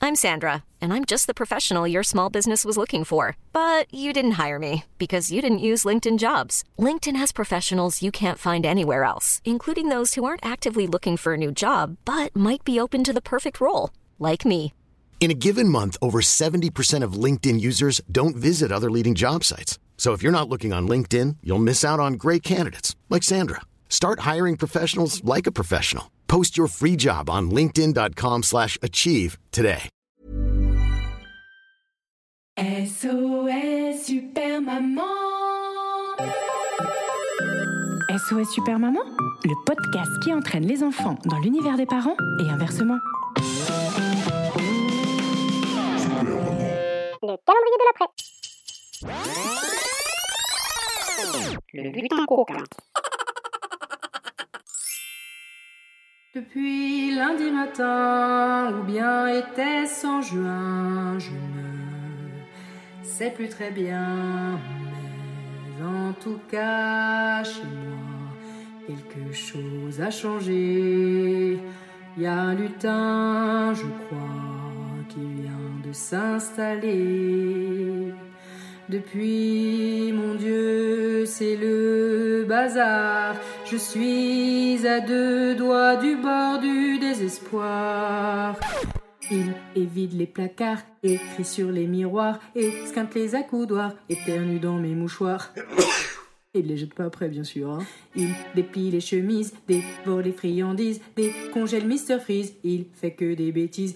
I'm Sandra, and I'm just the professional your small business was looking for. But you didn't hire me because you didn't use LinkedIn Jobs. LinkedIn has professionals you can't find anywhere else, including those who aren't actively looking for a new job, but might be open to the perfect role, like me. In a given month, over 70% of LinkedIn users don't visit other leading job sites. So if you're not looking on LinkedIn, you'll miss out on great candidates like Sandra. Start hiring professionals like a professional. Post your free job on linkedin.com/achieve today. SOS Super Maman. SOS Super Maman, le podcast qui entraîne les enfants dans l'univers des parents et inversement. Le calendrier de l'après. Le bulletin coquin. Depuis lundi matin, ou bien était-ce en juin, je ne sais plus très bien, mais en tout cas, chez moi, quelque chose a changé. Il y a un lutin, je crois, qui vient de s'installer. Depuis, mon Dieu, c'est le bazar. Je suis à 2 doigts du bord du désespoir. Il évite les placards, écrit sur les miroirs, esquinte les accoudoirs, éternue dans mes mouchoirs. Il les jette pas après, bien sûr. Hein. Il déplie les chemises, dévore les friandises, décongèle Mr Freeze. Il fait que des bêtises,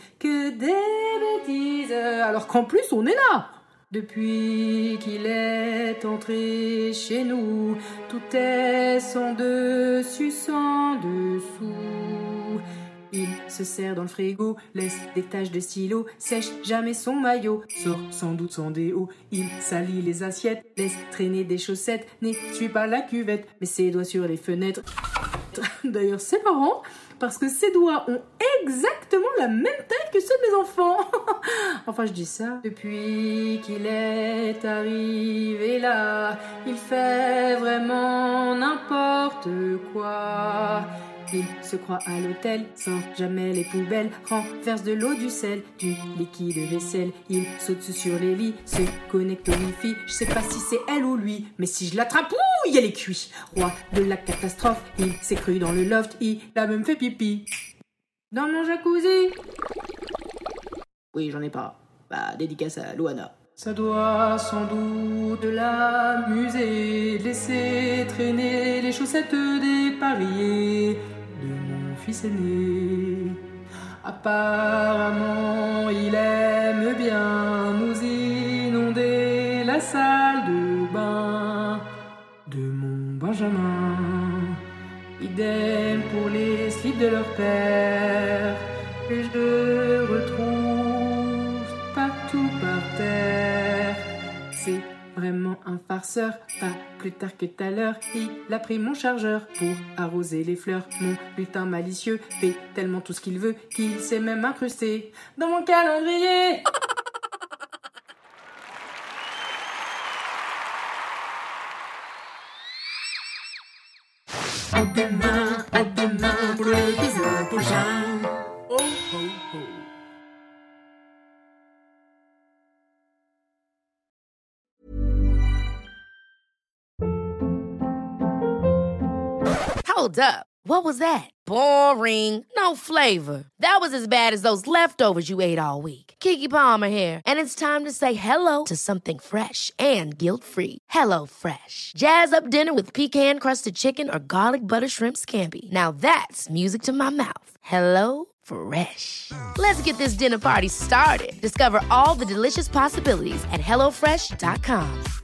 alors qu'en plus on est là. Depuis qu'il est entré chez nous, tout est sans dessus, sans dessous. Il se serre dans le frigo, laisse des taches de stylo, sèche jamais son maillot, sort sans doute sans déo. Il salit les assiettes, laisse traîner des chaussettes, n'essuie pas la cuvette, met ses doigts sur les fenêtres. D'ailleurs, c'est marrant, parce que ses doigts ont exactement la même taille que ceux de mes enfants. Enfin, je dis ça. Depuis qu'il est arrivé là, il fait vraiment n'importe quoi. Il se croit à l'hôtel, sans jamais les poubelles, renverse de l'eau, du sel, du liquide vaisselle. Il saute sur les lits, se connecte au wifi. Je sais pas si c'est elle ou lui, mais si je l'attrape, ouh, elle est cuite. Roi de la catastrophe, il s'est cru dans le loft, il a même fait pipi dans mon jacuzzi. Oui, j'en ai pas. Bah, dédicace à Loana. Ça doit sans doute l'amuser, laisser traîner les chaussettes dépareillées de mon fils aîné. Apparemment, il aime bien nous inonder la salle de bain de mon Benjamin. Idem pour les slips de leur père, que je retrouve partout par terre. C'est vraiment un farceur, pas plus tard que tout à l'heure. Il a pris mon chargeur pour arroser les fleurs. Mon lutin malicieux fait tellement tout ce qu'il veut qu'il s'est même incrusté dans mon calendrier. À demain pour l'épisode prochain. Oh, oh, oh. Hold up. What was that? Boring. No flavor. That was as bad as those leftovers you ate all week. Keke Palmer here, and it's time to say hello to something fresh and guilt-free. Hello Fresh. Jazz up dinner with pecan-crusted chicken or garlic butter shrimp scampi. Now that's music to my mouth. Hello Fresh. Let's get this dinner party started. Discover all the delicious possibilities at HelloFresh.com.